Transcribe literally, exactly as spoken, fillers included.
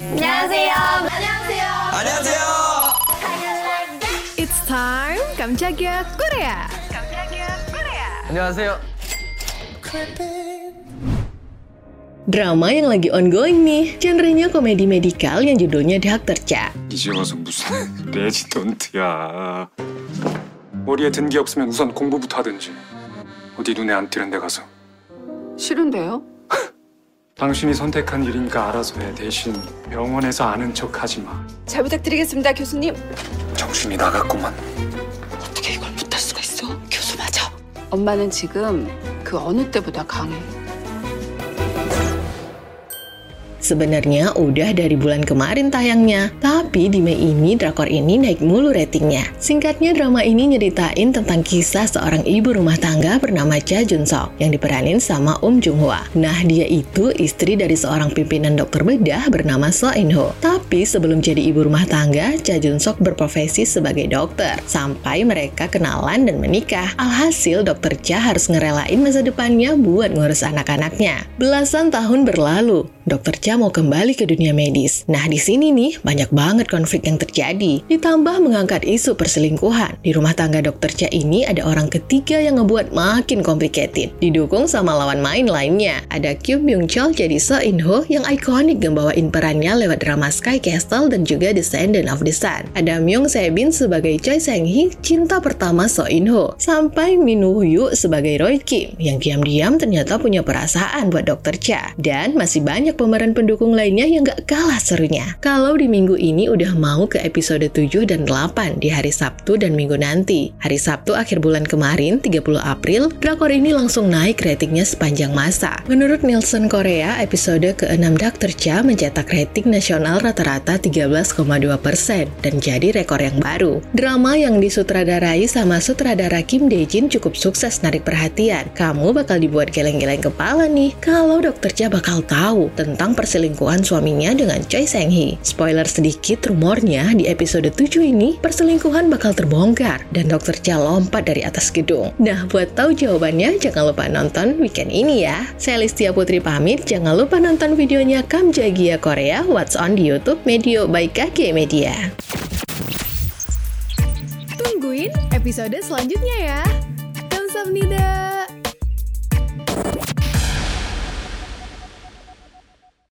안녕하세요. 안녕하세요. 안녕하세요. It's time 깜짝이야 Korea. 깜짝이야 Korea. 안녕하세요. Drama yang lagi ongoing nih, genrenya komedi medikal yang judulnya Dokter Cha. 이제 와서 무슨 레지던트야. 머리에 든 게 없으면 우선 공부부터 하든지. 어디 눈에 안 띄는 데 가서. 싫은데요? 당신이 선택한 일이니까 알아서 해. 대신 병원에서 아는 척 하지 마. 잘 부탁드리겠습니다, 교수님. 정신이 나갔구만. 어떻게 이걸 못할 수가 있어? 교수 맞아. 엄마는 지금 그 어느 때보다 강해. Sebenarnya udah dari bulan kemarin tayangnya, tapi di Mei ini drakor ini naik mulu ratingnya. Singkatnya, drama ini nyeritain tentang kisah seorang ibu rumah tangga bernama Cha Jun Sok yang diperanin sama Um Jung Hwa. Nah, dia itu istri dari seorang pimpinan dokter bedah bernama So In Ho. Tapi sebelum jadi ibu rumah tangga, Cha Jun Sok berprofesi sebagai dokter sampai mereka kenalan dan menikah. Alhasil, dokter Cha harus ngerelain masa depannya buat ngurus anak-anaknya. Belasan tahun berlalu, dokter Cha mau kembali ke dunia medis. Nah, di sini nih banyak banget konflik yang terjadi. Ditambah mengangkat isu perselingkuhan. Di rumah tangga dokter Cha ini ada orang ketiga yang ngebuat makin complicated. Didukung sama lawan main lainnya. Ada Kyung Byung Chol jadi So In Ho yang ikonik ngebawain perannya lewat drama Sky Castle dan juga Descendant of the Sun. Ada Myung Se Bin sebagai Choi Sang Hee, cinta pertama So In Ho. Sampai Min Woo Yu sebagai Roy Kim yang diam-diam ternyata punya perasaan buat dokter Cha. Dan masih banyak pemeran pendukung lainnya yang gak kalah serunya. Kalau di minggu ini udah mau ke episode tujuh dan delapan di hari Sabtu dan Minggu nanti. Hari Sabtu akhir bulan kemarin, tiga puluh April, drakor ini langsung naik ratingnya sepanjang masa. Menurut Nielsen Korea, episode keenam Dokter Cha mencetak rating nasional rata-rata tiga belas koma dua persen dan jadi rekor yang baru. Drama yang disutradarai sama sutradara Kim Dae Jin cukup sukses narik perhatian. Kamu bakal dibuat geleng-geleng kepala nih kalau Dokter Cha bakal tahu tentang perselingkuhan suaminya dengan Choi Sang Hee. Spoiler sedikit, rumornya di episode tujuh ini perselingkuhan bakal terbongkar dan dokter Cha lompat dari atas gedung. Nah, buat tahu jawabannya jangan lupa nonton weekend ini ya. Saya Listia Putri pamit, jangan lupa nonton videonya Kamjagia Korea What's On di YouTube Medio by K G Media. Tungguin episode selanjutnya ya. Kamsahamnida.